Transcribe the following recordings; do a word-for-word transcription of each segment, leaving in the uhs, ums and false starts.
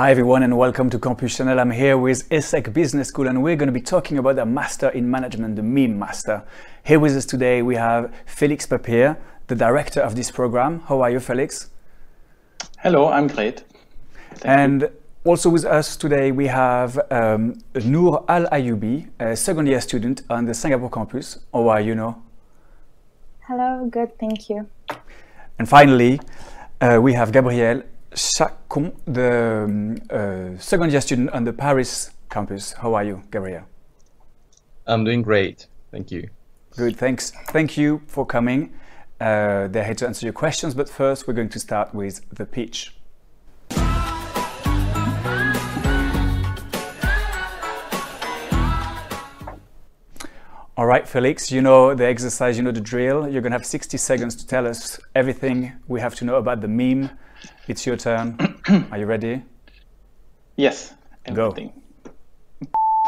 Hi everyone and welcome to Campus Channel. I'm here with ESSEC Business School and we're going to be talking about the Master in Management, the MEME Master. Here with us today we have Felix Papier, the director of this program. How are you, Felix? Hello, I'm great. Thank and you. Also with us today we have um, Noor Al Ayoubi, a second year student on the Singapore campus. How are you, Noor? Hello, good, thank you. And finally, uh, we have Gabriel Chacon, the um, uh, second year student on the Paris campus. How are you, Gabriel? I'm doing great, thank you. Good, thanks. Thank you for coming. Uh, they're here to answer your questions, but first we're going to start with the pitch. All right, Felix, you know the exercise, you know the drill. You're going to have sixty seconds to tell us everything we have to know about the meme. It's your turn. Are you ready? Yes, everything. Go.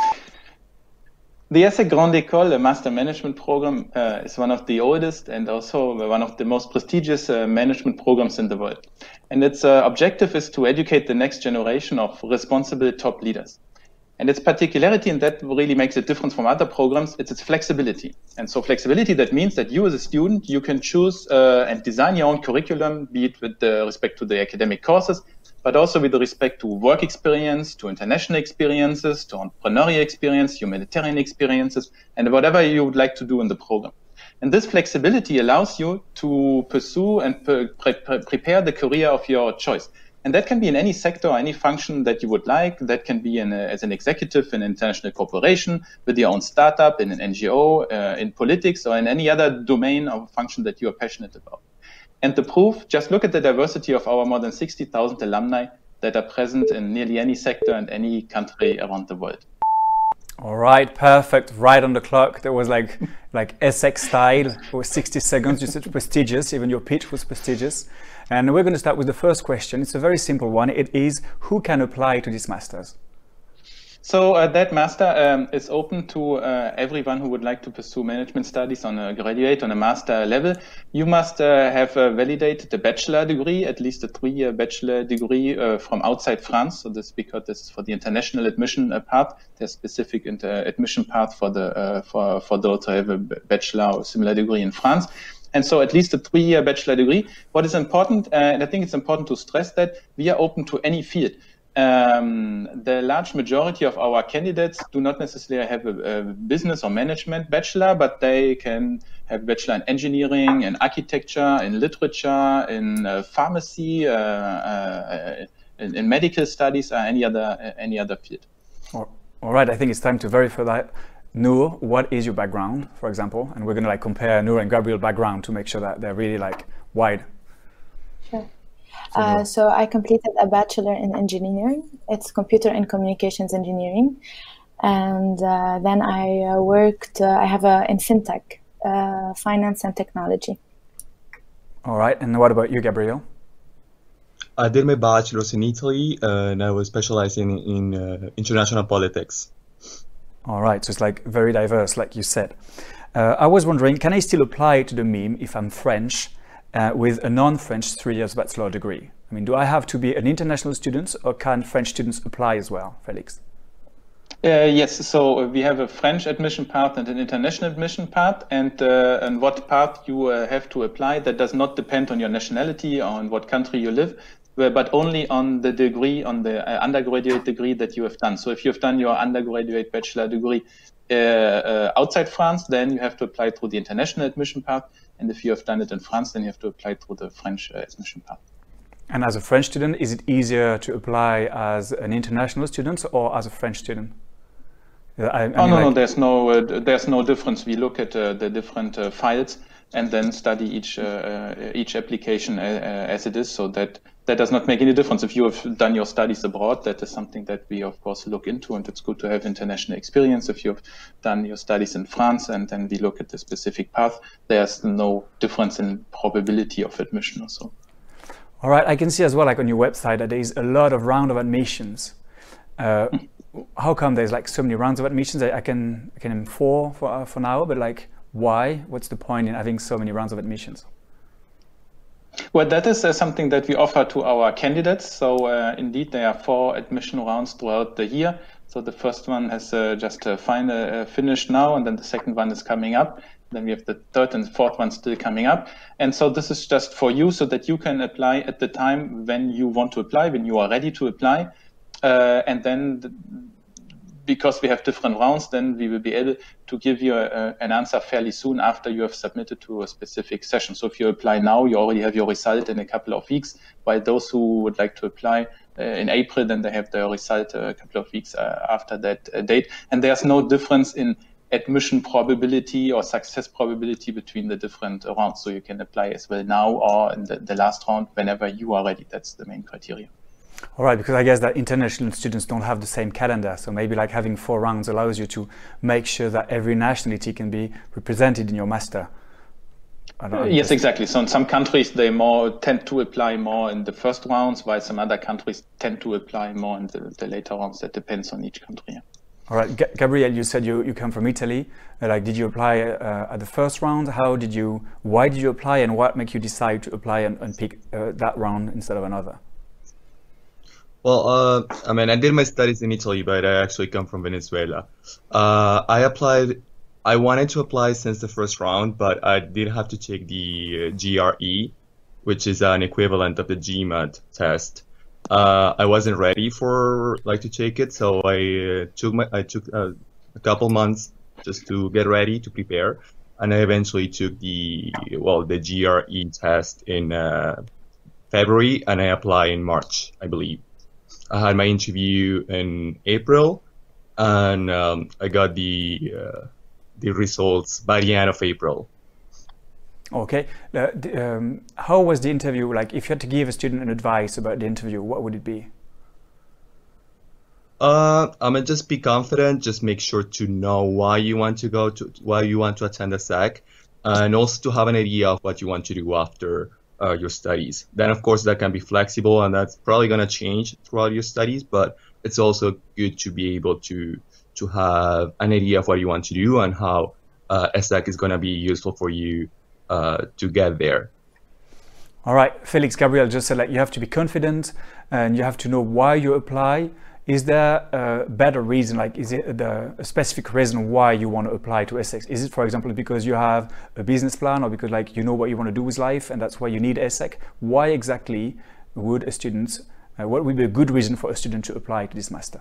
The ESSEC Grande École, the Master Management Program, uh, is one of the oldest and also one of the most prestigious uh, management programs in the world. And its uh, objective is to educate the next generation of responsible top leaders. And its particularity, and that really makes it different from other programs, it's its flexibility. And so flexibility, that means that you as a student, you can choose uh, and design your own curriculum, be it with uh, respect to the academic courses, but also with respect to work experience, to international experiences, to entrepreneurial experience, humanitarian experiences, and whatever you would like to do in the program. And this flexibility allows you to pursue and pre pre prepare the career of your choice. And that can be in any sector or any function that you would like. That can be in a, as an executive in an international corporation, with your own startup, in an N G O, uh, in politics, or in any other domain or function that you are passionate about. And the proof, just look at the diversity of our more than sixty thousand alumni that are present in nearly any sector and any country around the world. All right, perfect. Right on the clock. That was like like ESSEC style. It was sixty seconds. You said prestigious. Even your pitch was prestigious. And we're going to start with the first question. It's a very simple one. It is, who can apply to this master's? So uh, that master um, is open to uh, everyone who would like to pursue management studies on a graduate, on a master level. You must uh, have uh, validated a bachelor degree, at least a three-year bachelor degree uh, from outside France. So this because this is for the international admission uh, part. There's specific inter admission path for the uh, for for those who have a bachelor or similar degree in France. And so at least a three-year bachelor degree. What is important, uh, and I think it's important to stress that we are open to any field. Um, the large majority of our candidates do not necessarily have a, a business or management bachelor, but they can have bachelor in engineering, in architecture, in literature, in uh, pharmacy, uh, uh, in, in medical studies, or any other uh, any other field. All right, I think it's time to verify that. Noor, what is your background, for example? And we're going to like compare Noor and Gabriel's background to make sure that they're really like wide. Sure. So, uh, so I completed a bachelor in engineering. It's computer and communications engineering. And uh, then I uh, worked, uh, I have a in fintech, uh, finance and technology. All right. And what about you, Gabriel? I did my bachelor's in Italy uh, and I was specializing in uh, international politics. All right, so it's like very diverse, like you said. Uh, I was wondering, can I still apply to the meme if I'm French uh, with a non-French three years bachelor degree? I mean, do I have to be an international student or can French students apply as well, Felix? Uh, yes, so we have a French admission path and an international admission path, and uh, and what path you uh, have to apply, that does not depend on your nationality or on what country you live, but only on the degree, on the uh, undergraduate degree that you have done. So if you've done your undergraduate bachelor degree uh, uh, outside France, then you have to apply through the international admission path. And if you have done it in France, then you have to apply through the French uh, admission path. And as a French student, is it easier to apply as an international student or as a French student? I, I oh, mean, no, like... no, there's no, uh, there's no difference. We look at uh, the different uh, files and then study each uh, each application uh, as it is, so that that does not make any difference. If you have done your studies abroad, that is something that we of course look into, and it's good to have international experience. If you've done your studies in France and then we look at the specific path, there's no difference in probability of admission or so. All right, I can see as well, like on your website, that there is a lot of round of admissions. Uh, how come there's like so many rounds of admissions? I, I can I can name four for uh, for now, but like why? What's the point in having so many rounds of admissions? Well, that is uh, something that we offer to our candidates. So uh, indeed, there are four admission rounds throughout the year. So the first one has uh, just uh, final, uh, finished now, and then the second one is coming up. Then we have the third and fourth one still coming up. And so this is just for you so that you can apply at the time when you want to apply, when you are ready to apply. Uh, and then the, because we have different rounds, then we will be able to give you a, an answer fairly soon after you have submitted to a specific session. So if you apply now, you already have your result in a couple of weeks, while those who would like to apply uh, in April, then they have their result a couple of weeks uh, after that uh, date. And there's no difference in admission probability or success probability between the different rounds. So you can apply as well now or in the, the last round whenever you are ready. That's the main criteria. All right, because I guess that international students don't have the same calendar. So maybe like having four rounds allows you to make sure that every nationality can be represented in your master. I don't uh, yes, exactly. So in some countries, they more tend to apply more in the first rounds, while some other countries tend to apply more in the, the later rounds. That depends on each country. All right, G- Gabriel, you said you, you come from Italy. Uh, like, did you apply uh, at the first round? How did you, why did you apply, and what made you decide to apply and, and pick uh, that round instead of another? Well, uh, I mean, I did my studies in Italy, but I actually come from Venezuela. Uh, I applied, I wanted to apply since the first round, but I did have to take the uh, G R E, which is an equivalent of the GMAT test. Uh, I wasn't ready for like to take it, so I uh, took my, I took uh, a couple months just to get ready to prepare, and I eventually took the well the G R E test in uh, February, and I applied in March, I believe. I had my interview in April, and um, I got the uh, the results by the end of April. Okay. Uh, the, um, how was the interview? Like, if you had to give a student an advice about the interview, what would it be? Uh, I mean, just be confident. Just make sure to know why you want to go to, why you want to attend a S E C, and also to have an idea of what you want to do after uh, your studies. Then, of course, that can be flexible, and that's probably going to change throughout your studies. But it's also good to be able to to have an idea of what you want to do and how uh, a S E C is going to be useful for you uh, to get there. All right, Felix, Gabriel just said like you have to be confident and you have to know why you apply. Is there a better reason, like is it the, a specific reason why you want to apply to S E C? Is it, for example, because you have a business plan or because like you know what you want to do with life and that's why you need S E C? Why exactly would a student, uh, what would be a good reason for a student to apply to this master?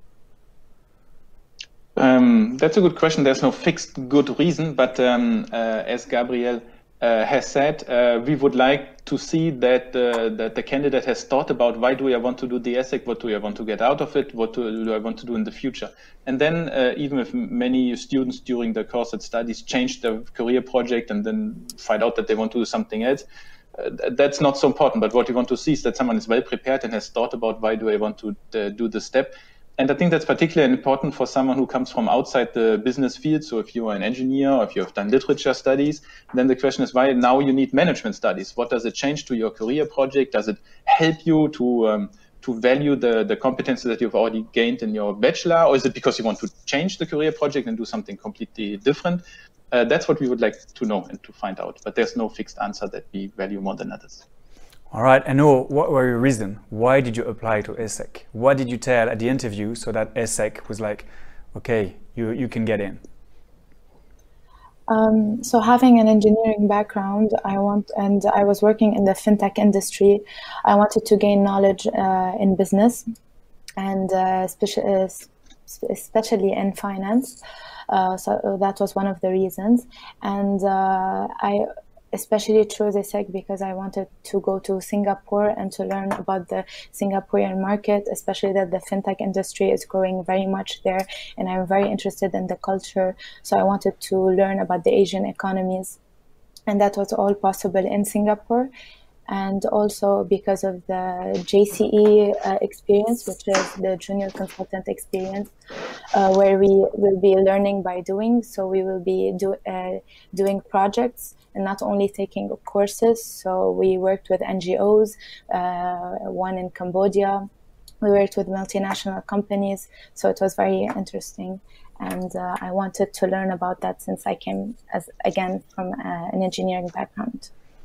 Um, that's a good question. There's no fixed good reason, but um, uh, as Gabriel Uh, has said, uh, we would like to see that, uh, that the candidate has thought about why do I want to do the S E C, what do I want to get out of it, what do, do I want to do in the future. And then uh, even if many students during the course of studies change their career project and then find out that they want to do something else, uh, that's not so important. But what we want to see is that someone is well prepared and has thought about why do I want to uh, do the step. And I think that's particularly important for someone who comes from outside the business field. So if you are an engineer or if you have done literature studies, then the question is why now you need management studies. What does it change to your career project? Does it help you to um, to value the, the competences that you've already gained in your bachelor? Or is it because you want to change the career project and do something completely different? Uh, that's what we would like to know and to find out. But there's no fixed answer that we value more than others. All right, and Noah, what were your reasons? Why did you apply to S E C? What did you tell at the interview so that S E C was like, okay, you, you can get in? Um, so having an engineering background, I want, and I was working in the fintech industry. I wanted to gain knowledge uh, in business, and uh, especially, especially in finance. Uh, so that was one of the reasons, and uh, I. especially chose S E C because I wanted to go to Singapore and to learn about the Singaporean market, especially that the fintech industry is growing very much there, and I'm very interested in the culture. So I wanted to learn about the Asian economies, and that was all possible in Singapore. And also because of the J C E uh, experience, which is the junior consultant experience, uh, where we will be learning by doing. So we will be do, uh, doing projects and not only taking courses. So we worked with N G Os, uh, one in Cambodia. We worked with multinational companies. So it was very interesting. And uh, I wanted to learn about that since I came, as again, from uh, an engineering background.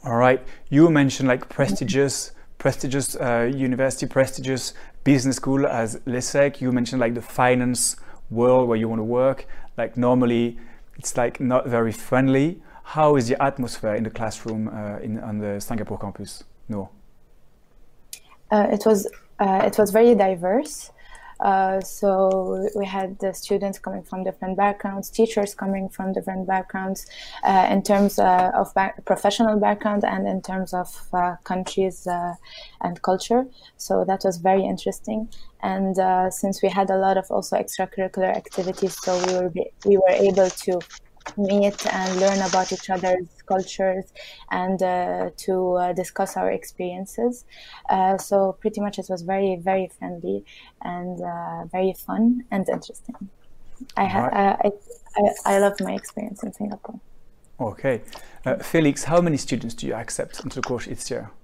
All right. You mentioned like prestigious, prestigious uh, university, prestigious business school as l'ESSEC. You mentioned like the finance world where you want to work. Like normally, it's like not very friendly. How is the atmosphere in the classroom uh, in on the Singapore campus? No. Uh, it was uh, it was very diverse. Uh, so we had the students coming from different backgrounds, teachers coming from different backgrounds, uh, in terms uh, of back professional background and in terms of uh, countries uh, and culture. So that was very interesting. And uh, since we had a lot of also extracurricular activities, so we were we were able to meet and learn about each other's cultures and uh, to uh, discuss our experiences. Uh, so pretty much it was very, very friendly and uh, very fun and interesting. I, ha right. I, I, I love my experience in Singapore. Okay. Uh, Felix, how many students do you accept into the course each year?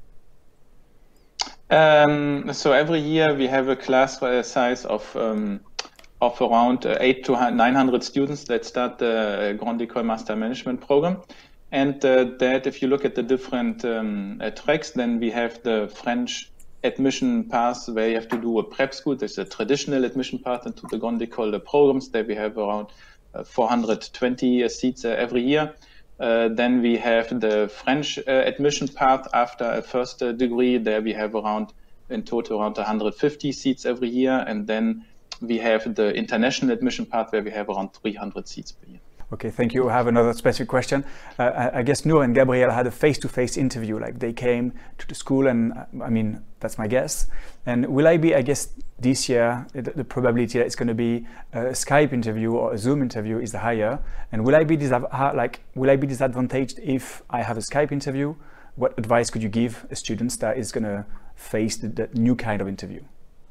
Um, so every year we have a class size of um, of around uh, eight to nine hundred students that start the Grande École Master Management program. And uh, that if you look at the different um, uh, tracks, then we have the French admission path where you have to do a prep school. There's a traditional admission path into the Grande École programs. There we have around uh, four hundred twenty uh, seats uh, every year. Uh, then we have the French uh, admission path after a first uh, degree. There we have around, in total, around one hundred fifty seats every year. And then we have the international admission path where we have around three hundred seats per year. Okay, thank you. I have another specific question. Uh, I, I guess Noor and Gabriel had a face-to-face interview, like they came to the school and, uh, I mean, that's my guess. And will I be, I guess, this year, the, the probability that it's going to be a Skype interview or a Zoom interview is higher. And will I be, like, will I be disadvantaged if I have a Skype interview? What advice could you give a student that is going to face the, the new kind of interview?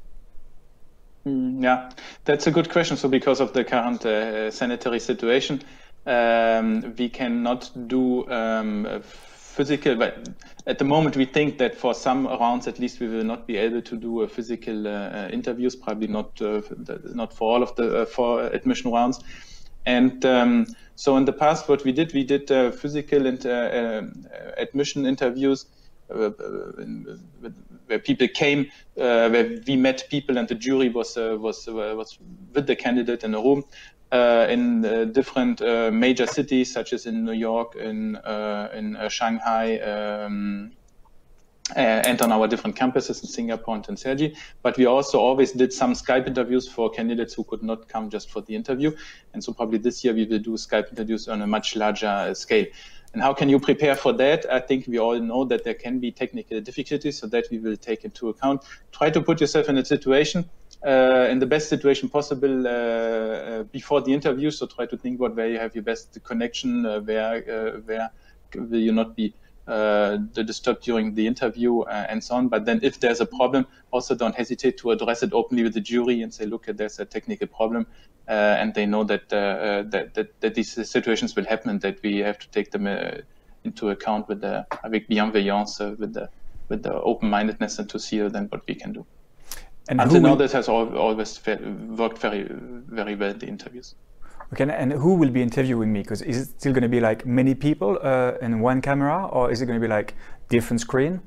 Yeah, that's a good question. So because of the current uh, sanitary situation, um, we cannot do um, physical, but at the moment we think that for some rounds at least we will not be able to do a physical uh, interviews, probably not uh, not for all of the uh, for admission rounds. And um, so in the past what we did, we did uh, physical and uh, uh, admission interviews Uh, where people came, uh, where we met people, and the jury was uh, was uh, was with the candidate in a room uh, in uh, different uh, major cities, such as in New York, in uh, in uh, Shanghai, um, and on our different campuses in Singapore and in Sergi. But we also always did some Skype interviews for candidates who could not come just for the interview. And so probably this year we will do Skype interviews on a much larger uh, scale. And how can you prepare for that? I think we all know that there can be technical difficulties, so that we will take into account. Try to put yourself in a situation, uh, in the best situation possible uh, uh, before the interview. So try to think about where you have your best connection, uh, where uh, where will you not be uh, disturbed during the interview, uh, and so on. But then if there's a problem, also don't hesitate to address it openly with the jury and say, look, there's a technical problem. Uh, and they know that, uh, that, that that these situations will happen and that we have to take them uh, into account with the avec bienveillance, uh, with the with the open-mindedness, and to see then what we can do. And until now, this has al always worked very very well in the interviews. Okay, and who will be interviewing me? Because is it still going to be like many people uh, in one camera, or is it going to be like different screen?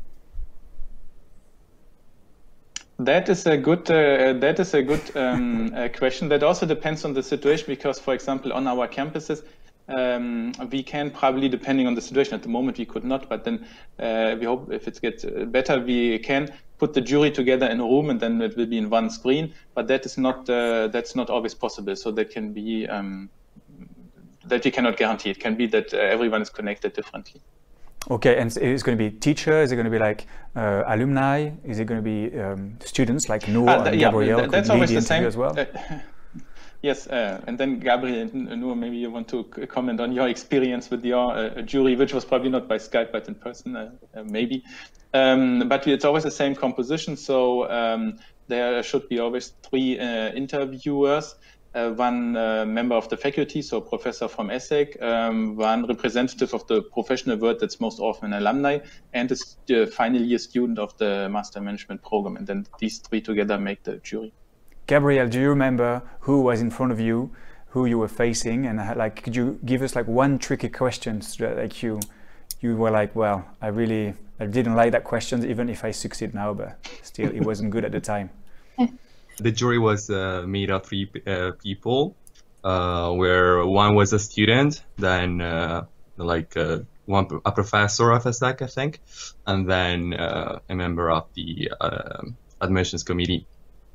That is a good. Uh, that is a good um, uh, question. That also depends on the situation, because, for example, on our campuses, um, we can probably, depending on the situation. At the moment, we could not, but then uh, we hope if it gets better, we can put the jury together in a room, and then it will be in one screen. But that is not. Uh, that's not always possible. So that can be um, that we cannot guarantee. It can be that uh, everyone is connected differently. Okay, and it's going to be teacher? Is it going to be like uh, alumni? Is it going to be um, students like Noor uh, and yeah, Gabriel? That, that's always the same. As well? Uh, yes, uh, and then Gabriel and Noor, maybe you want to comment on your experience with your uh, jury, which was probably not by Skype but in person, uh, uh, maybe. Um, but it's always the same composition, so um, there should be always three uh, interviewers. Uh, one uh, member of the faculty, so a professor from ESSEC, um, one representative of the professional world, that's most often an alumni, and a uh, final year student of the Master Management program. And then these three together make the jury. Gabriel, do you remember who was in front of you, who you were facing, and like, could you give us like one tricky question so that like you, you were like, well, I really I didn't like that question, even if I succeed now, but still it wasn't good at the time. The jury was uh, made of three uh, people, uh, where one was a student, then uh, like uh, one a professor of E S S E C, I think, and then uh, a member of the uh, admissions committee.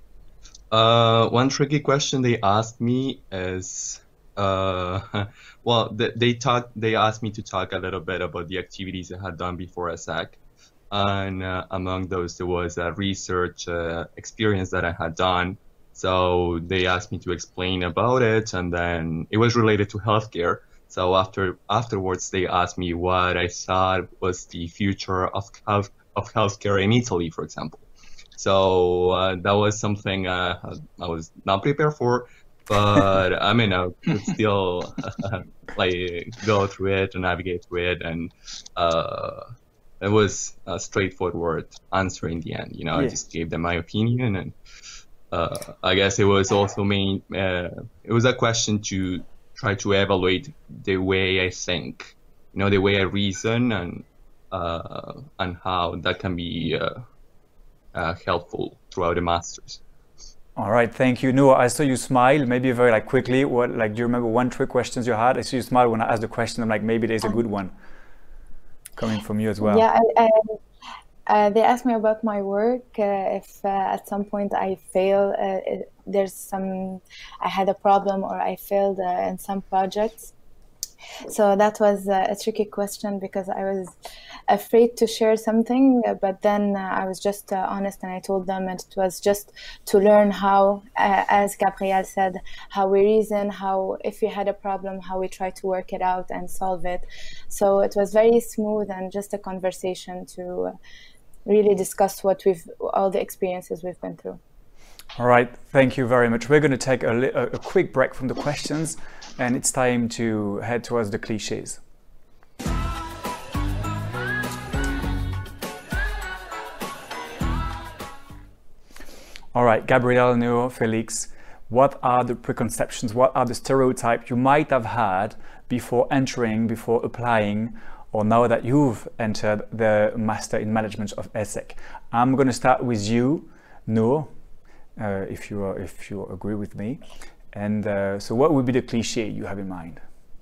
Uh, one tricky question they asked me is, uh, well, they, they talked, they asked me to talk a little bit about the activities I had done before E S S E C. And uh, among those, there was a research uh, experience that I had done. So they asked me to explain about it, and then it was related to healthcare. So after afterwards, they asked me what I thought was the future of health of healthcare in Italy, for example. So uh, that was something uh, I was not prepared for, but I mean, I could still uh, like go through it and navigate through it, and uh, it was a straightforward answer in the end. You know, yeah. I just gave them my opinion, and uh, I guess it was also main. Uh, it was a question to try to evaluate the way I think, you know, the way I reason, and uh, and how that can be. Uh, Uh, helpful throughout the masters. All right, thank you. Noor, I saw you smile. Maybe very like quickly. What like do you remember one trick questions you had? I saw you smile when I asked the question. I'm like, maybe there's a good one coming from you as well. Yeah, I, I, uh, they asked me about my work. Uh, if uh, at some point I fail, uh, it, there's some, I had a problem or I failed uh, in some projects. So that was uh, a tricky question because I was afraid to share something, but then uh, I was just uh, honest and I told them, and it was just to learn how, uh, as Gabriel said, how we reason, how if we had a problem, how we try to work it out and solve it. So it was very smooth and just a conversation to uh, really discuss what we've, all the experiences we've been through. All right, thank you very much. We're going to take a, a quick break from the questions, and it's time to head towards the cliches. All right, Gabriel, Noor, Felix, what are the preconceptions, what are the stereotypes you might have had before entering, before applying, or now that you've entered the Master in Management of E S S E C? I'm going to start with you, Noor. Uh, if you are, if you agree with me, and uh, so what would be the cliche you have in mind?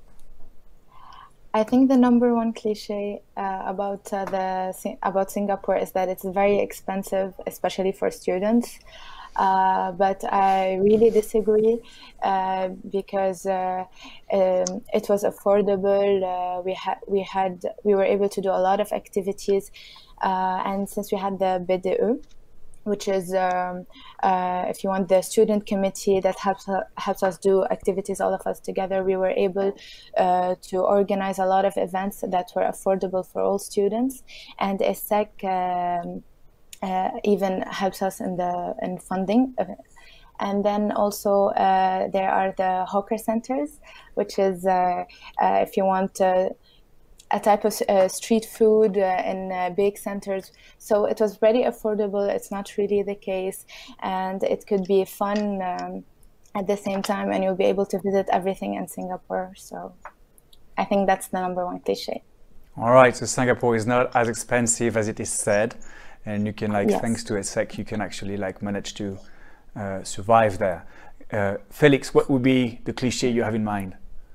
I think the number one cliche uh, about uh, the about Singapore is that it's very expensive, especially for students. Uh, but I really disagree uh, because uh, um, it was affordable. Uh, we had we had we were able to do a lot of activities, uh, and since we had the B D E, which is, um, uh, if you want, the student committee that helps uh, helps us do activities, all of us together. We were able uh, to organize a lot of events that were affordable for all students, and E S S E C um, uh, even helps us in the in funding. And then also uh, there are the hawker centers, which is, uh, uh, if you want, uh, a type of uh, street food uh, in uh, big centers. So it was very affordable. It's not really the case. And it could be fun um, at the same time, and you'll be able to visit everything in Singapore. So I think that's the number one cliche. All right, so Singapore is not as expensive as it is said. And you can, like, yes. thanks to E S S E C, you can actually like manage to uh, survive there. Uh, Felix, what would be the cliche you have in mind?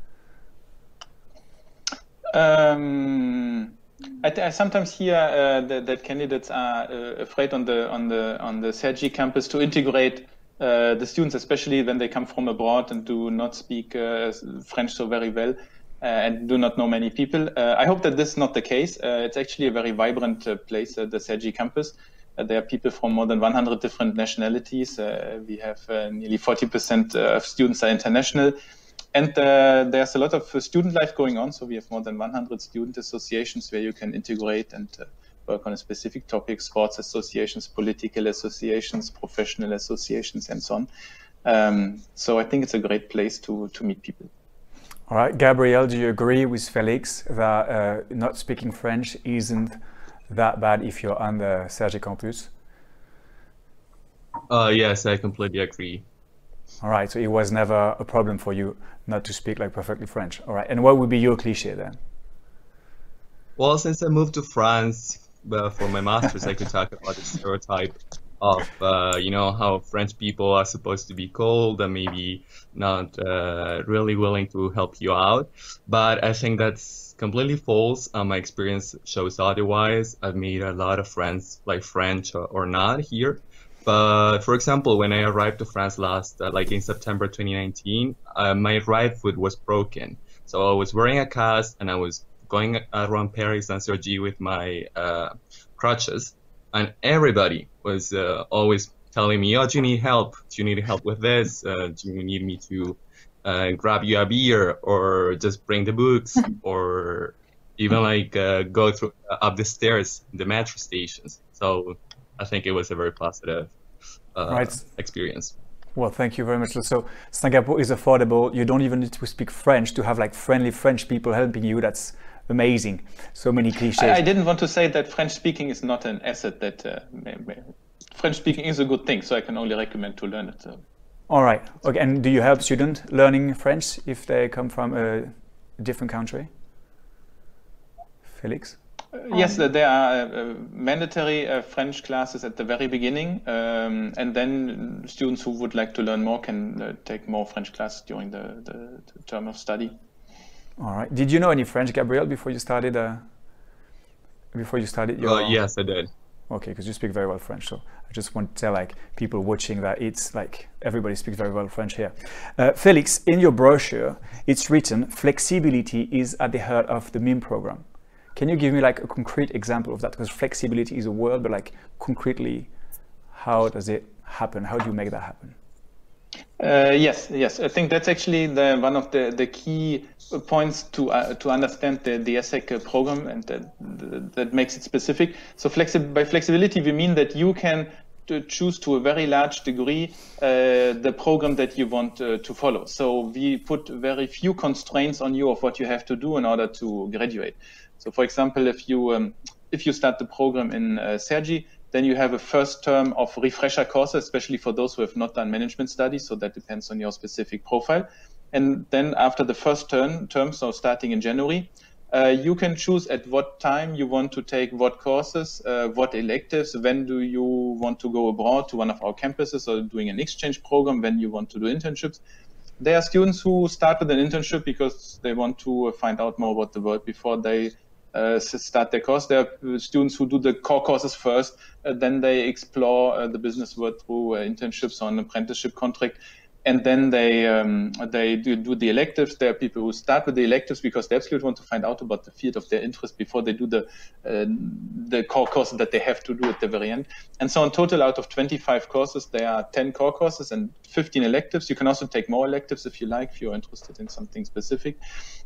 Um, I, I sometimes hear uh, that, that candidates are uh, afraid on the on the on the Sergi campus to integrate uh, the students, especially when they come from abroad and do not speak uh, French so very well uh, and do not know many people. Uh, I hope that this is not the case. Uh, it's actually a very vibrant uh, place, uh, the Sergi campus. Uh, there are people from more than one hundred different nationalities. Uh, we have uh, nearly forty percent of students are international. And uh, there's a lot of uh, student life going on. So we have more than one hundred student associations where you can integrate and uh, work on a specific topic, sports associations, political associations, professional associations, and so on. Um, so I think it's a great place to, to meet people. All right, Gabriel, do you agree with Felix that uh, not speaking French isn't that bad if you're on the Sergi campus? Uh, yes, I completely agree. All right, so it was never a problem for you not to speak like perfectly French. All right, and what would be your cliche then? Well, since I moved to France uh, for my master's, I could talk about the stereotype of, uh, you know, how French people are supposed to be cold and maybe not uh, really willing to help you out. But I think that's completely false. Uh, my experience shows otherwise. I've made a lot of friends, like French or, or not here. But for example, when I arrived to France last, uh, like in September twenty nineteen, uh, my right foot was broken. So I was wearing a cast and I was going around Paris and Cergy with my uh, crutches, and everybody was uh, always telling me, "Oh, do you need help? Do you need help with this? Uh, do you need me to uh, grab you a beer, or just bring the books, or even like uh, go through uh, up the stairs, the metro stations?" So I think it was a very positive uh, Right. experience. Well, thank you very much. So Singapore is affordable. You don't even need to speak French to have like friendly French people helping you. That's amazing. So many cliches. I, I didn't want to say that French speaking is not an asset. That uh, may, may, French speaking is a good thing, so I can only recommend to learn it. So. All right. Okay. And do you help students learning French if they come from a different country? Felix? Uh, yes, uh, there are uh, mandatory uh, French classes at the very beginning, um, and then students who would like to learn more can uh, take more French classes during the, the, the term of study. All right. Did you know any French, Gabriel, before you started? Uh, before you started your? Uh, yes, I did. Okay, because you speak very well French, so I just want to tell like people watching that it's like everybody speaks very well French here. Uh, Felix, in your brochure, it's written flexibility is at the heart of the MIM program. Can you give me like a concrete example of that? Because flexibility is a word, but like concretely, how does it happen? How do you make that happen? Uh, yes, yes. I think that's actually the, one of the, the key points to uh, to understand the, the ESSEC program, and that, that makes it specific. So flexi- by flexibility, we mean that you can to choose to a very large degree uh, the program that you want uh, to follow. So we put very few constraints on you of what you have to do in order to graduate. So for example, if you um, if you start the program in uh, Cergy, then you have a first term of refresher courses, especially for those who have not done management studies. So that depends on your specific profile. And then after the first term, term so starting in January, uh, you can choose at what time you want to take what courses, uh, what electives, when do you want to go abroad to one of our campuses or doing an exchange program, when you want to do internships. There are students who start with an internship because they want to find out more about the world before they Uh, start their course. There are students who do the core courses first, uh, then they explore uh, the business world through uh, internships on an apprenticeship contract, and then they um, they do, do the electives. There are people who start with the electives because they absolutely want to find out about the field of their interest before they do the uh, the core courses that they have to do at the very end. And so in total, out of twenty-five courses, there are ten core courses and fifteen electives. You can also take more electives if you like, if you're interested in something specific.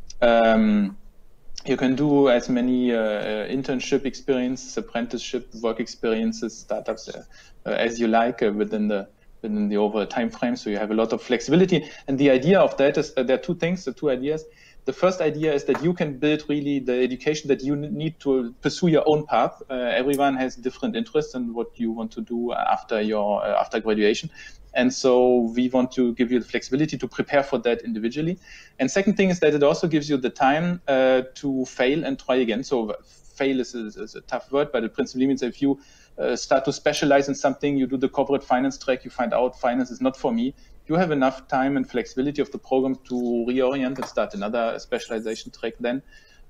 Um, You can do as many uh, internship experiences, apprenticeship, work experiences, startups uh, uh, as you like uh, within the within the overall time frame. So you have a lot of flexibility. And the idea of that is uh, there are two things, the two ideas. The first idea is that you can build really the education that you need to pursue your own path. Uh, everyone has different interests in what you want to do after your uh, after graduation. And so we want to give you the flexibility to prepare for that individually. And second thing is that it also gives you the time uh, to fail and try again. So fail is a, is a tough word, but it principally means if you uh, start to specialize in something, you do the corporate finance track, you find out finance is not for me, you have enough time and flexibility of the program to reorient and start another specialization track then.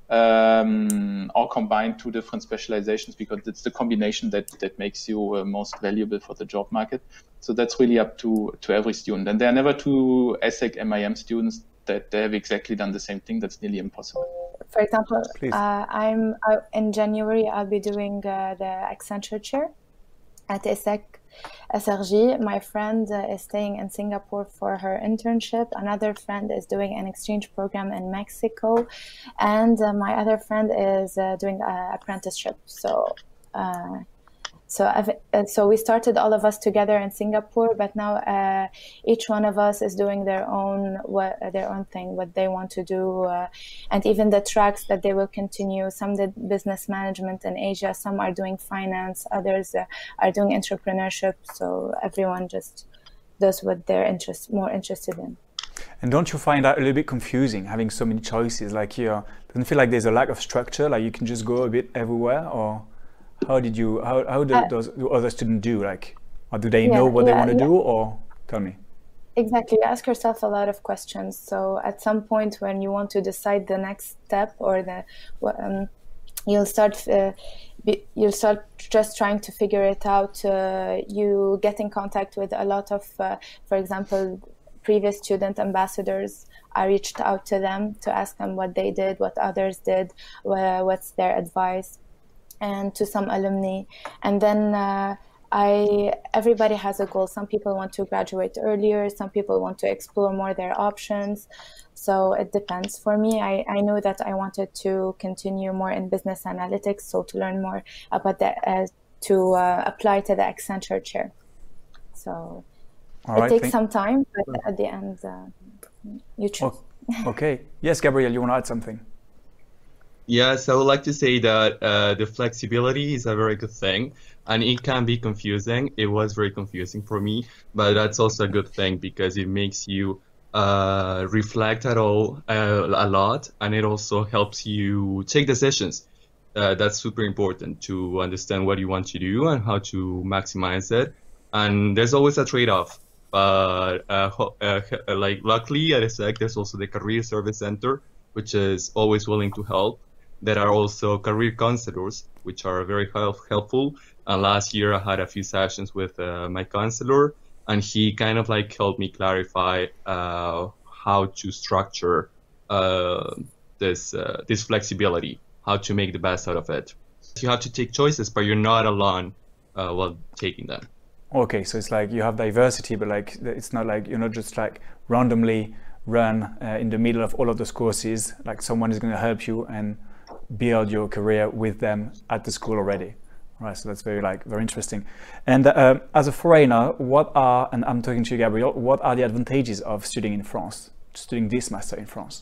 Um, or combine two different specializations, because it's the combination that, that makes you uh, most valuable for the job market. So that's really up to, to every student. And there are never two ESSEC M I M students that they have exactly done the same thing. That's nearly impossible. For example, uh, I'm uh, in January, I'll be doing uh, the Accenture chair at ESSEC S R G. My friend uh, is staying in Singapore for her internship. Another friend is doing an exchange program in Mexico. And uh, my other friend is uh, doing an apprenticeship. So uh, so I've, uh, so we started all of us together in Singapore, but now uh, each one of us is doing their own what, their own thing, what they want to do. Uh, and even the tracks that they will continue, some did business management in Asia, some are doing finance, others uh, are doing entrepreneurship. So everyone just does what they're interest, more interested in. And don't you find that a little bit confusing, having so many choices? Like, you doesn't feel like there's a lack of structure, like you can just go a bit everywhere? Or how did you, how, how do, Uh, those, do other students do? Like, or do they yeah, know what they yeah, want to yeah. do? Or tell me. Exactly. You ask yourself a lot of questions. So at some point when you want to decide the next step or the, um, you'll start, uh, be, you'll start just trying to figure it out. Uh, you get in contact with a lot of, uh, for example, previous student ambassadors. I reached out to them to ask them what they did, what others did, wh- what's their advice, and to some alumni. And then uh, I everybody has a goal. Some people want to graduate earlier, some people want to explore more their options. So it depends. For me, I, I knew that I wanted to continue more in business analytics, so to learn more about that, uh, to uh, apply to the Accenture chair. So All it right, takes thank- some time, but at the end, uh, you choose. Oh, okay. Yes, Gabriel, you want to add something? Yes, I would like to say that uh, the flexibility is a very good thing, and it can be confusing. It was very confusing for me, but that's also a good thing because it makes you uh, reflect at all uh, a lot, and it also helps you take decisions. Uh, that's super important to understand what you want to do and how to maximize it. And there's always a trade-off. But uh, ho- uh, like luckily at ESSEC, there's also the Career Service Center, which is always willing to help. There are also career counselors, which are very help- helpful. And last year I had a few sessions with uh, my counselor, and he kind of like helped me clarify uh, how to structure uh, this uh, this flexibility, how to make the best out of it. You have to take choices, but you're not alone uh, while taking them. Okay, so it's like you have diversity, but like it's not like you're not just like randomly run uh, in the middle of all of those courses. Like someone is going to help you and build your career with them at the school already. Right, so that's very like very interesting. And uh, as a foreigner, what are, and I'm talking to you, Gabriel, what are the advantages of studying in France, studying this master in France?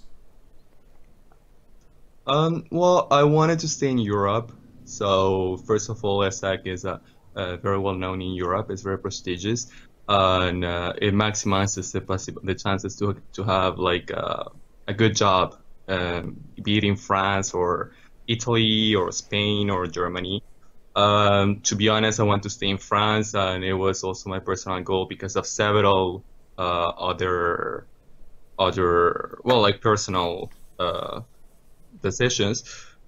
Um, well, I wanted to stay in Europe. So first of all, ESSEC is a Uh, very well known in Europe. It's very prestigious, uh, and uh, it maximizes the possible the chances to to have like uh, a good job, um, be it in France or Italy or Spain or Germany. Um, to be honest, I want to stay in France, and it was also my personal goal because of several uh, other other well, like personal uh, decisions.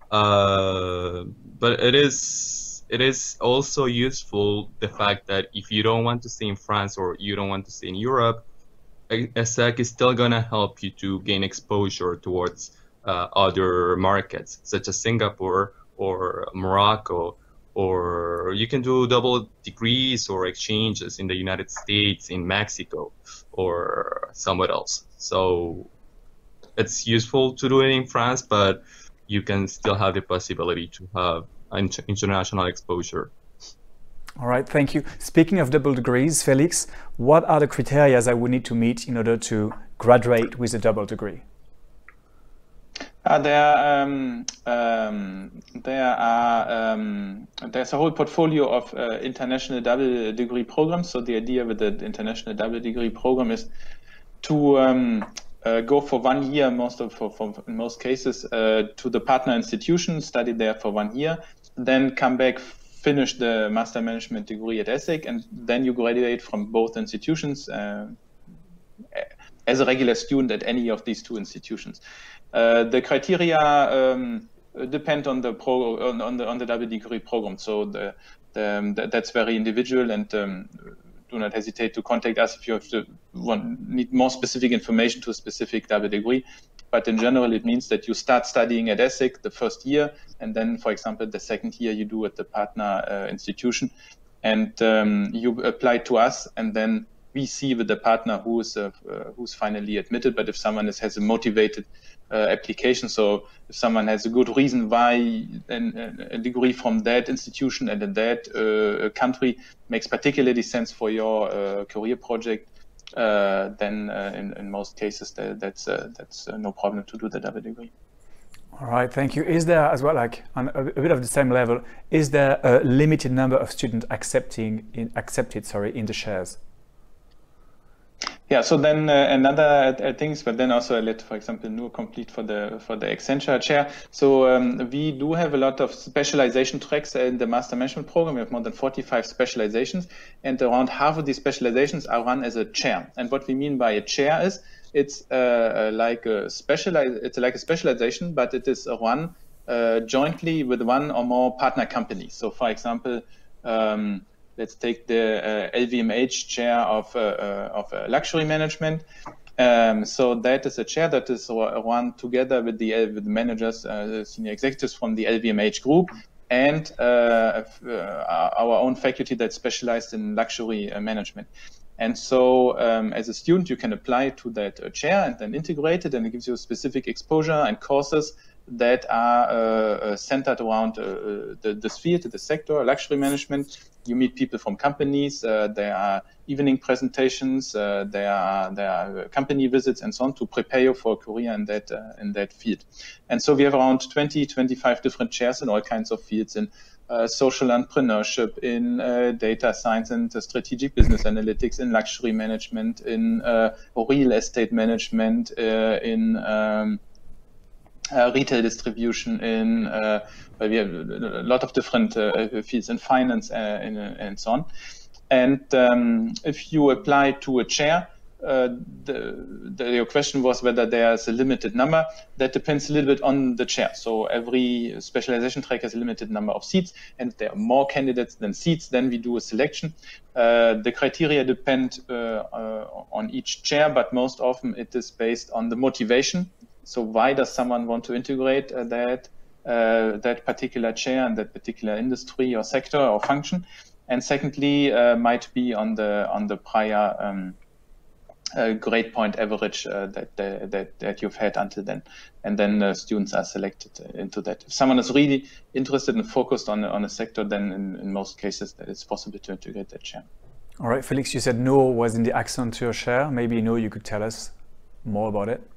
Uh, but it is. It is also useful the fact that if you don't want to stay in France or you don't want to stay in Europe, ESSEC is still going to help you to gain exposure towards uh, other markets, such as Singapore or Morocco, or you can do double degrees or exchanges in the United States, in Mexico, or somewhere else. So it's useful to do it in France, but you can still have the possibility to have international exposure. All right, thank you. Speaking of double degrees, Felix, what are the criteria I would need to meet in order to graduate with a double degree? Uh, there, um, um, there are um, there's a whole portfolio of uh, international double degree programs. So the idea with the international double degree program is to um, Uh, go for one year, most of for, for in most cases, uh, to the partner institution, study there for one year, then come back, finish the master management degree at ESSEC, and then you graduate from both institutions uh, as a regular student at any of these two institutions. Uh, the criteria um, depend on the pro on, on the on the double degree program, so the, the, um, the that's very individual, and um, do not hesitate to contact us if you have to want, need more specific information to a specific double degree. But in general, it means that you start studying at ESSEC the first year, and then, for example, the second year you do at the partner uh, institution, and um, you apply to us, and then we see with the partner who is uh, uh, who's finally admitted. But if someone is, has a motivated uh, application, so if someone has a good reason why an, a degree from that institution and in that uh, country makes particularly sense for your uh, career project, uh, then uh, in, in most cases that, that's uh, that's uh, no problem to do the double degree. All right, thank you. Is there as well, like on a, a bit of the same level, is there a limited number of students accepting in, accepted, sorry, in the shares? Yeah, so then uh, another uh, things, but then also I let, for example, Noor complete for the for the Accenture chair. So um, we do have a lot of specialization tracks in the master management program. We have more than forty-five specializations, and around half of these specializations are run as a chair. And what we mean by a chair is it's uh, like a specialize. It's like a specialization, but it is run uh, jointly with one or more partner companies. So, for example. Um, Let's take the uh, L V M H chair of uh, uh, of uh, luxury management. Um, so that is a chair that is run together with the with the managers, uh, the senior executives from the L V M H group, and uh, uh, our own faculty that's specialized in luxury uh, management. And so, um, as a student, you can apply to that uh, chair and then integrate it, and it gives you specific exposure and courses that are uh, uh, centered around uh, the, the sphere, the sector, luxury management. You meet people from companies. Uh, there are evening presentations. Uh, there are there are company visits and so on to prepare you for a career in that uh, in that field. And so we have around twenty, twenty-five different chairs in all kinds of fields in uh, social entrepreneurship, in uh, data science and uh, strategic business analytics, in luxury management, in uh, real estate management, uh, in um, Uh, retail distribution, in uh, well, we have a lot of different uh, fields in finance uh, and, uh, and so on. And um, if you apply to a chair, uh, the, the, your question was whether there's a limited number. That depends a little bit on the chair. So every specialization track has a limited number of seats, and if there are more candidates than seats, then we do a selection. Uh, the criteria depend uh, uh, on each chair, but most often it is based on the motivation. So why does someone want to integrate uh, that uh, that particular chair in that particular industry or sector or function? And secondly, uh, might be on the on the prior um, uh, grade point average uh, that, that that you've had until then, and then uh, students are selected into that. If someone is really interested and focused on on a sector, then in, in most cases that it's possible to integrate that chair. All right, Felix, you said Noor was in the Accenture chair. Maybe Noor, you could tell us more about it.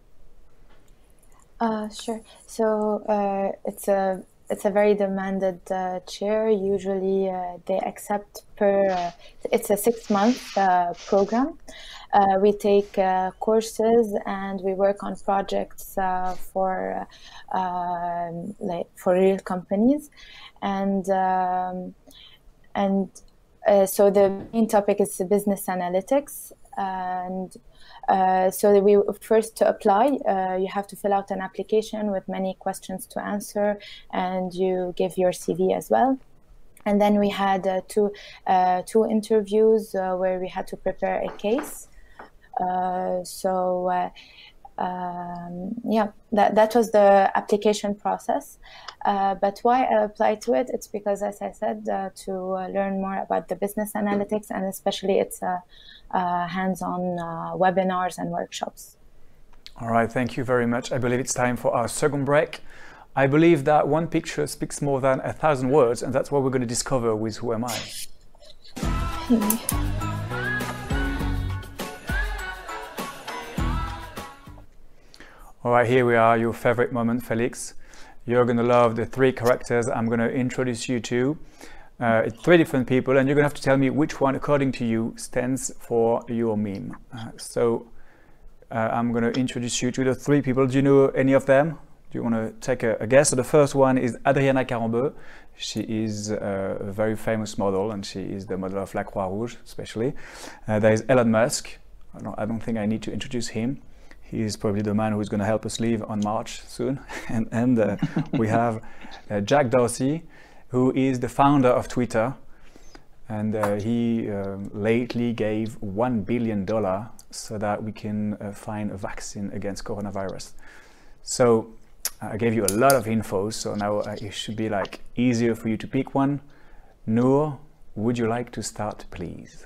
Uh, sure. So uh, it's a it's a very demanded uh, chair. Usually uh, they accept per. Uh, it's a six month uh, program. Uh, we take uh, courses and we work on projects uh, for uh, like for real companies, and um, and uh, so the main topic is the business analytics. And Uh, so that we first to apply, uh, you have to fill out an application with many questions to answer, and you give your C V as well. And then we had uh, two uh, two interviews uh, where we had to prepare a case. Uh, so uh, um, yeah, that that was the application process. Uh, but why I applied to it? It's because, as I said, uh, to uh, learn more about the business analytics, and especially it's a uh, uh, hands-on uh, webinars and workshops. All right, thank you very much. I believe it's time for our second break. I believe that one picture speaks more than a thousand words, and that's what we're going to discover with Who Am I? All right, here we are, your favorite moment, Felix. You're going to love the three characters I'm going to introduce you to. Uh, it's three different people, and you're going to have to tell me which one, according to you, stands for your meme. Uh, so uh, I'm going to introduce you to the three people. Do you know any of them? Do you want to take a, a guess? So the first one is Adriana Carambeu. She is uh, a very famous model, and she is the model of La Croix-Rouge, especially. Uh, there is Elon Musk. I don't, I don't think I need to introduce him. He is probably the man who's going to help us leave on March soon. and and uh, we have uh, Jack Dorsey, who is the founder of Twitter. And uh, he um, lately gave one billion dollars so that we can uh, find a vaccine against coronavirus. So uh, I gave you a lot of info, so now uh, it should be like easier for you to pick one. Noor, would you like to start, please?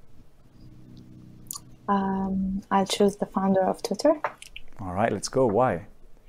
Um, I'll choose the founder of Twitter. All right, let's go. Why?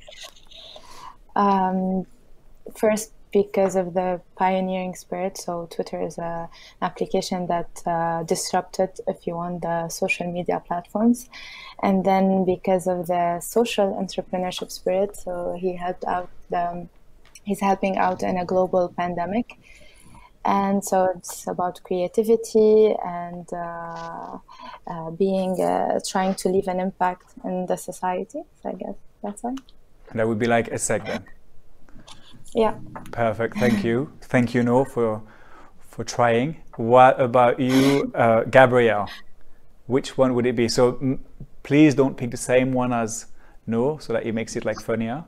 Um, first, because of the pioneering spirit. So Twitter is a, an application that uh, disrupted, if you want, the social media platforms. And then because of the social entrepreneurship spirit, so he helped out, the, he's helping out in a global pandemic. And so it's about creativity and uh, uh, being, uh, trying to leave an impact in the society. So I guess that's why. And that would be like ESSEC then? Yeah. Perfect, thank you. Thank you, No, for, for trying. What about you, uh, Gabrielle? Which one would it be? So m- please don't pick the same one as No, so that it makes it like funnier.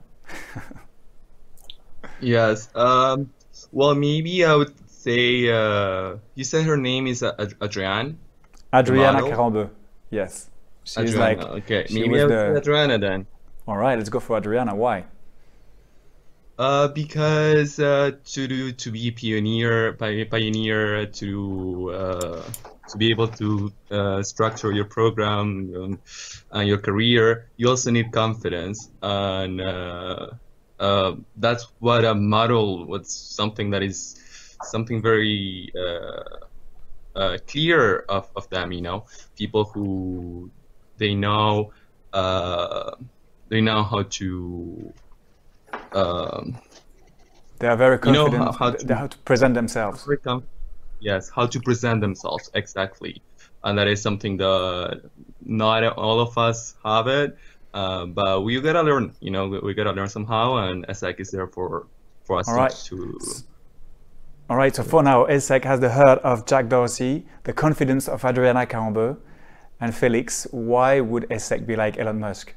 Yes. Um, well, maybe I would say uh, you said her name is uh, Ad- Adrienne. Adriana model? Carambeu. Yes. She's Adriana. like, Okay, she maybe was I would the- say Adriana then. all right, let's go for Adriana. Why? Uh, because uh, to do to be a pioneer, pi- pioneer to uh, to be able to uh, structure your program um, and your career, you also need confidence, and uh, uh, that's what a model. What's something that is something very uh, uh, clear of, of them. You know, people who they know uh, they know how to. Um, They are very You know confident. how- how th- to- how to present themselves. very com- yes, how to present themselves exactly, and that is something that not all of us have it, uh, but we gotta learn. You know, we, we gotta learn somehow, and ESSEC is there for for us All to- right. to. All right, so for now, ESSEC has the heart of Jack Dorsey, the confidence of Adriana Carambeu, and Felix. Why would ESSEC be like Elon Musk?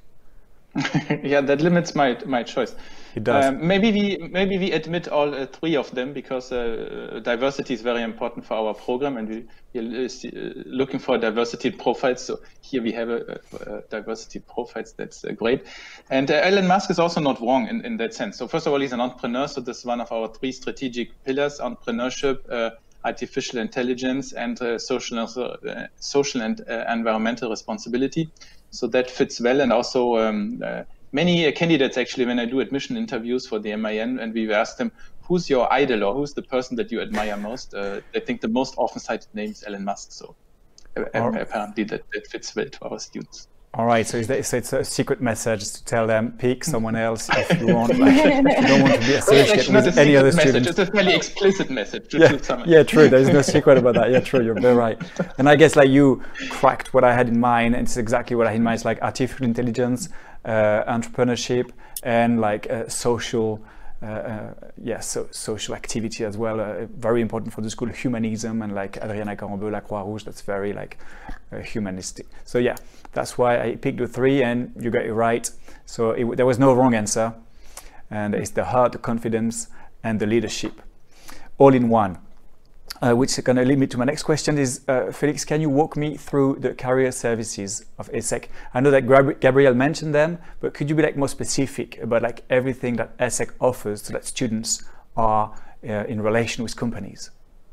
Yeah, that limits my my choice. It does. Um, maybe we maybe we admit all uh, three of them because uh, diversity is very important for our program, and we, we're uh, looking for diversity profiles. So here we have a, a, a diversity profiles. That's uh, great. And uh, Elon Musk is also not wrong in, in that sense. So first of all, he's an entrepreneur. So this is one of our three strategic pillars: entrepreneurship, uh, artificial intelligence, and uh, social uh, social and uh, environmental responsibility. So that fits well, and also. Um, uh, Many uh, candidates actually, when I do admission interviews for the M I N, and we ask them, who's your idol or who's the person that you admire most? Uh, I think the most often cited name is Elon Musk. So uh, Or- apparently that, that fits well to our students. All right, so it's, so it's a secret message to tell them pick someone else if you want. Like, if you don't want to be It's associated actually not a with any secret other message. students. It's a fairly explicit message to Yeah, choose someone. yeah, true. There's no secret about that. Yeah, true. You're very right. And I guess like you cracked what I had in mind, and it's exactly what I had in mind. It's like artificial intelligence, uh, entrepreneurship, and like uh, social, uh, uh, yeah, so social activity as well. Uh, very important for the school. Humanism and like Adriana Carambeu, La Croix Rouge. That's very like uh, humanistic. So yeah, that's why I picked the three, and you got it right. So it, there was no wrong answer, and it's the heart, the confidence, and the leadership, all in one. Uh, which is going to lead me to my next question is, uh, Felix, can you walk me through the career services of ESSEC? I know that Gab- Gabrielle mentioned them, but could you be like more specific about like everything that ESSEC offers so that students are uh, in relation with companies?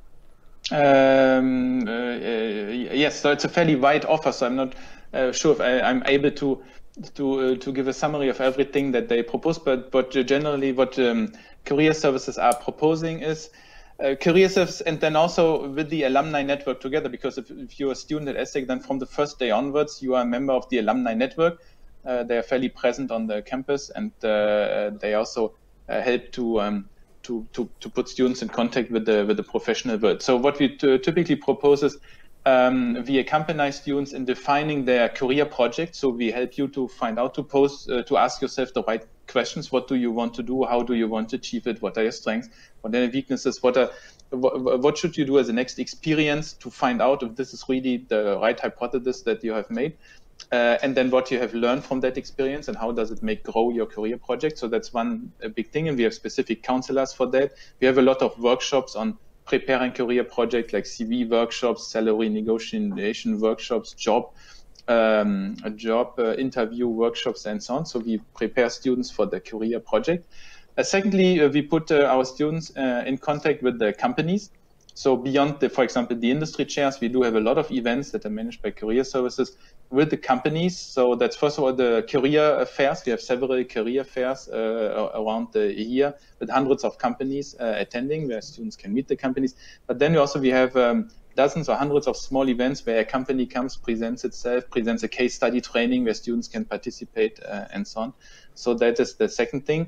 Um, uh, uh, yes, so it's a fairly wide offer, so I'm not uh, sure if I, I'm able to to uh, to give a summary of everything that they propose, but but generally what um, career services are proposing is uh, career service, and then also with the alumni network together, because if, if you're a student at ESSEC, then from the first day onwards, you are a member of the alumni network. Uh, they are fairly present on the campus, and uh, they also uh, help to um, To, to, to put students in contact with the with the professional world. So what we t- typically propose is um, we accompany students in defining their career project. So we help you to find out to pose uh, to ask yourself the right questions. What do you want to do? How do you want to achieve it? What are your strengths? What are your weaknesses? What are what, what should you do as a next experience to find out if this is really the right hypothesis that you have made? Uh, and then what you have learned from that experience and how does it make grow your career project. So that's one a big thing, and we have specific counselors for that. We have a lot of workshops on preparing career projects, like C V workshops, salary negotiation workshops, job um, job uh, interview workshops, and so on. So we prepare students for the career project. Uh, secondly, uh, we put uh, our students uh, in contact with the companies. So beyond, the, for example, the industry chairs, we do have a lot of events that are managed by career services with the companies. So that's first of all the career fairs. We have several career fairs uh, around the year with hundreds of companies uh, attending, where students can meet the companies. But then we also we have um, dozens or hundreds of small events where a company comes, presents itself, presents a case study training where students can participate uh, and so on. So that is the second thing.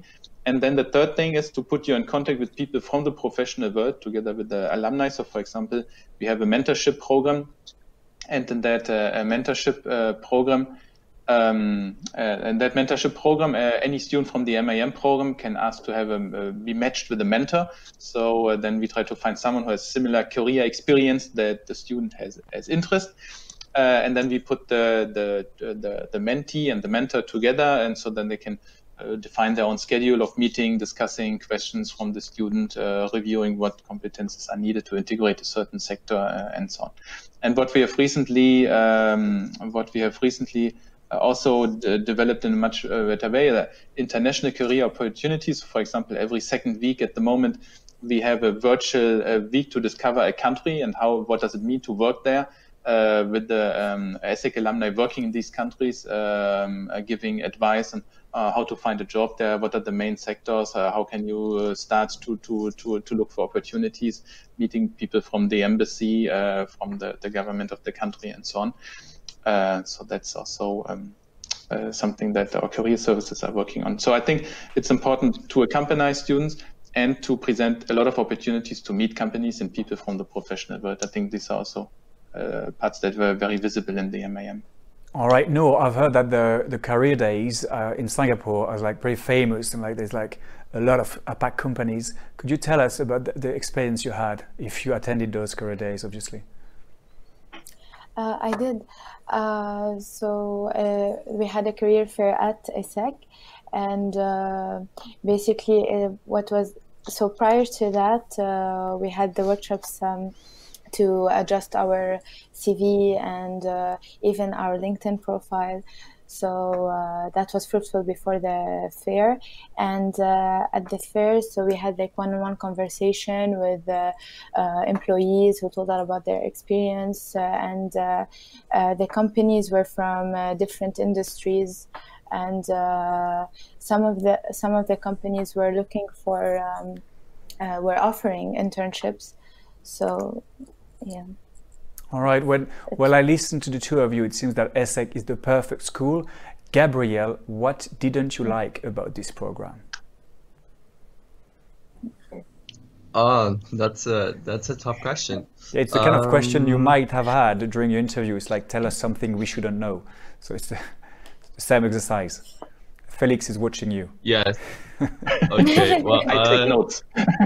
And then the third thing is to put you in contact with people from the professional world together with the alumni. So for example, we have a mentorship program, and in that uh, mentorship uh, program, um, uh, in that mentorship program, uh, any student from the M A M program can ask to have a, uh, be matched with a mentor. So uh, then we try to find someone who has similar career experience that the student has, has interest. Uh, and then we put the, the, the, the mentee and the mentor together, and so then they can uh, define their own schedule of meeting, discussing questions from the student, uh, reviewing what competences are needed to integrate a certain sector, uh, and so on. And what we have recently, um, what we have recently uh, also d developed in a much uh, better way, uh, international career opportunities. For example, every second week at the moment, we have a virtual uh, week to discover a country and how, what does it mean to work there. Uh, with the um, ESSEC alumni working in these countries, um, uh, giving advice on uh, how to find a job there, what are the main sectors, uh, how can you uh, start to, to, to, to look for opportunities, meeting people from the embassy, uh, from the, the government of the country, and so on. Uh, so that's also um, uh, something that our career services are working on. So I think it's important to accompany students and to present a lot of opportunities to meet companies and people from the professional world. I think these are also Uh, parts that were very visible in the M A M. All right. No, I've heard that the the career days uh, in Singapore are like very famous, and like there's like a lot of A PAC companies. Could you tell us about the, the experience you had if you attended those career days? Obviously. Uh, I did. Uh, so uh, we had a career fair at ESSEC, and uh, basically uh, what was so prior to that uh, we had the workshops. Um, to adjust our C V and uh, even our LinkedIn profile. So uh, that was fruitful before the fair. And uh, at the fair, so we had like one-on-one conversation with uh, uh, employees who told us about their experience. Uh, and uh, uh, the companies were from uh, different industries. And uh, some of the some of the companies were looking for, um, uh, were offering internships. So, yeah. All right. When well, I listened to the two of you, it seems that ESSEC is the perfect school. Gabrielle, what didn't you like about this program? Uh, that's a that's a tough question. Yeah, it's the kind um, of question you might have had during your interview. It's like, tell us something we shouldn't know. So it's the, the same exercise. Felix is watching you. Yes. Okay. Well, I uh, take notes.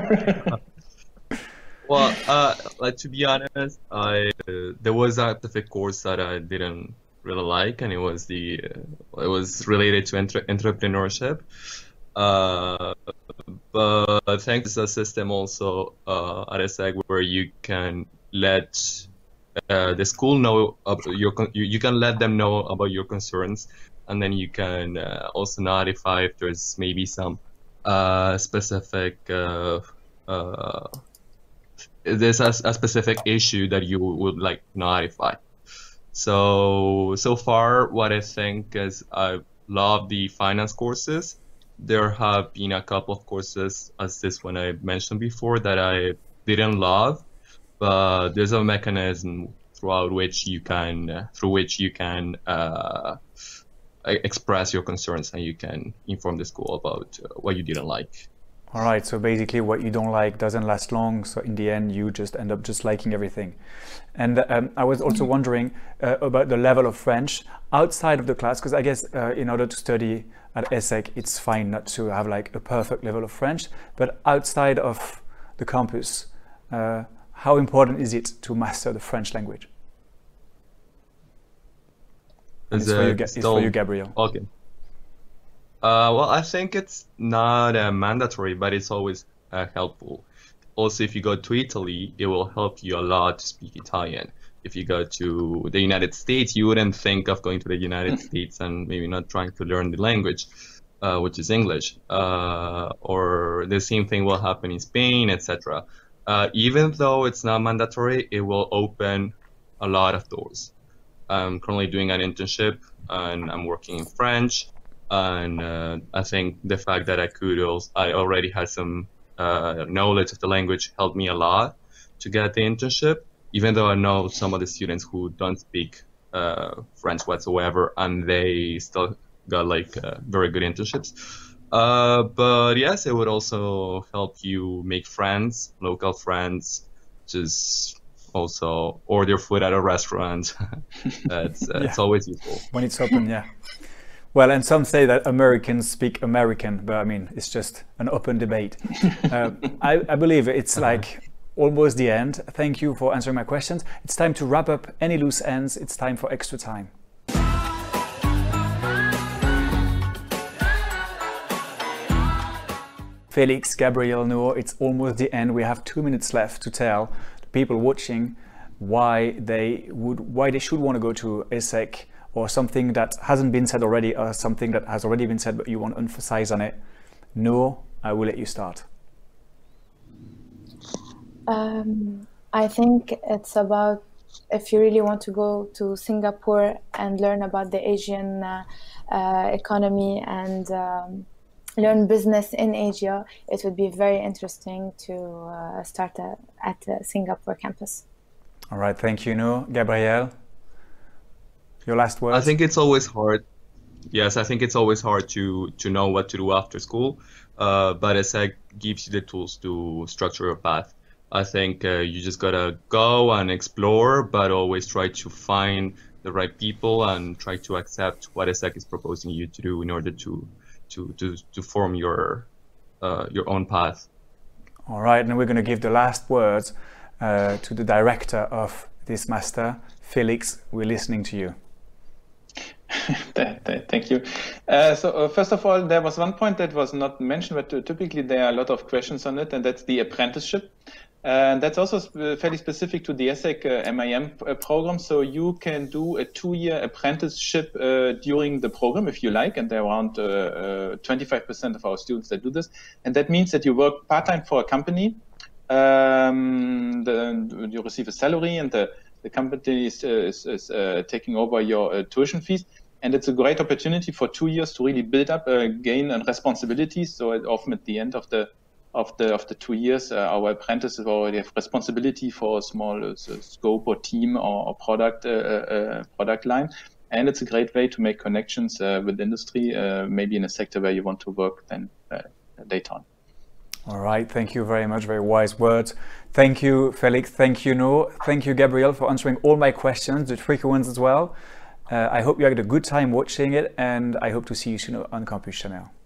Well, uh, like to be honest, I uh, there was a specific course that I didn't really like, and it was the uh, it was related to entre entrepreneurship. Uh, but thanks to a system also uh, at ESSEC where you can let uh, the school know about your you, you can let them know about your concerns, and then you can uh, also notify if there's maybe some uh, specific. Uh, uh, There's a, a specific issue that you would like notify. So, so far what I think is I love the finance courses. There have been a couple of courses as this one I mentioned before that I didn't love, but there's a mechanism throughout which you can, uh, through which you can uh, express your concerns and you can inform the school about uh, what you didn't like. All right, so basically what you don't like doesn't last long, so in the end you just end up just liking everything. And um, I was also wondering uh, about the level of French outside of the class, because I guess uh, in order to study at ESSEC, it's fine not to have like a perfect level of French, but outside of the campus, uh, how important is it to master the French language? It's for, you, it's still, for you, Gabrielle. Okay. Uh, well, I think it's not uh, mandatory, but it's always uh, helpful. Also, if you go to Italy, it will help you a lot to speak Italian. If you go to the United States, you wouldn't think of going to the United States and maybe not trying to learn the language, uh, which is English. Uh, or the same thing will happen in Spain, et cetera. Uh, even though it's not mandatory, it will open a lot of doors. I'm currently doing an internship and I'm working in French. And uh, I think the fact that I could also, I already had some uh, knowledge of the language helped me a lot to get the internship, even though I know some of the students who don't speak uh, French whatsoever and they still got like uh, very good internships. Uh, but yes, it would also help you make friends, local friends, just also order food at a restaurant. That's uh, Yeah. It's always useful. When it's open, yeah. Well, and some say that Americans speak American, but I mean, it's just an open debate. uh, I, I believe it's like almost the end. Thank you for answering my questions. It's time to wrap up any loose ends. It's time for extra time. Felix, Gabriel, Noor, it's almost the end. We have two minutes left to tell the people watching why they would, why they should want to go to ESSEC, or something that hasn't been said already, or something that has already been said but you want to emphasize on it. Noor, I will let you start. Um, I think it's about, if you really want to go to Singapore and learn about the Asian uh, uh, economy and um, learn business in Asia, it would be very interesting to uh, start a, at the Singapore campus. All right, thank you, Noor. Gabriel, your last words? I think it's always hard. Yes, I think it's always hard to to know what to do after school, uh, but ESSEC gives you the tools to structure your path. I think uh, you just gotta go and explore, but always try to find the right people and try to accept what ESSEC is proposing you to do in order to to to, to form your uh, your own path. All right, and we're going to give the last words uh, to the director of this master, Felix. We're listening to you. Thank you. Uh, so uh, first of all, there was one point that was not mentioned, but uh, typically there are a lot of questions on it, and that's the apprenticeship. Uh, and that's also sp fairly specific to the ESSEC uh, M I M uh, program. So you can do a two-year apprenticeship uh, during the program if you like, and there are around twenty-five percent uh, uh, of our students that do this. And that means that you work part-time for a company. Um, the, you receive a salary, and the, the company is, uh, is, is uh, taking over your uh, tuition fees. And it's a great opportunity for two years to really build up, uh, gain and responsibilities. So it, often at the end of the of the of the two years, uh, our apprentices already have responsibility for a small uh, scope or team or, or product uh, uh, product line. And it's a great way to make connections uh, with industry, uh, maybe in a sector where you want to work then uh, later on. All right, thank you very much. Very wise words. Thank you, Felix. Thank you, Noor. Thank you, Gabriel, for answering all my questions, the tricky ones as well. Uh, I hope you had a good time watching it, and I hope to see you soon on Campus Chanel.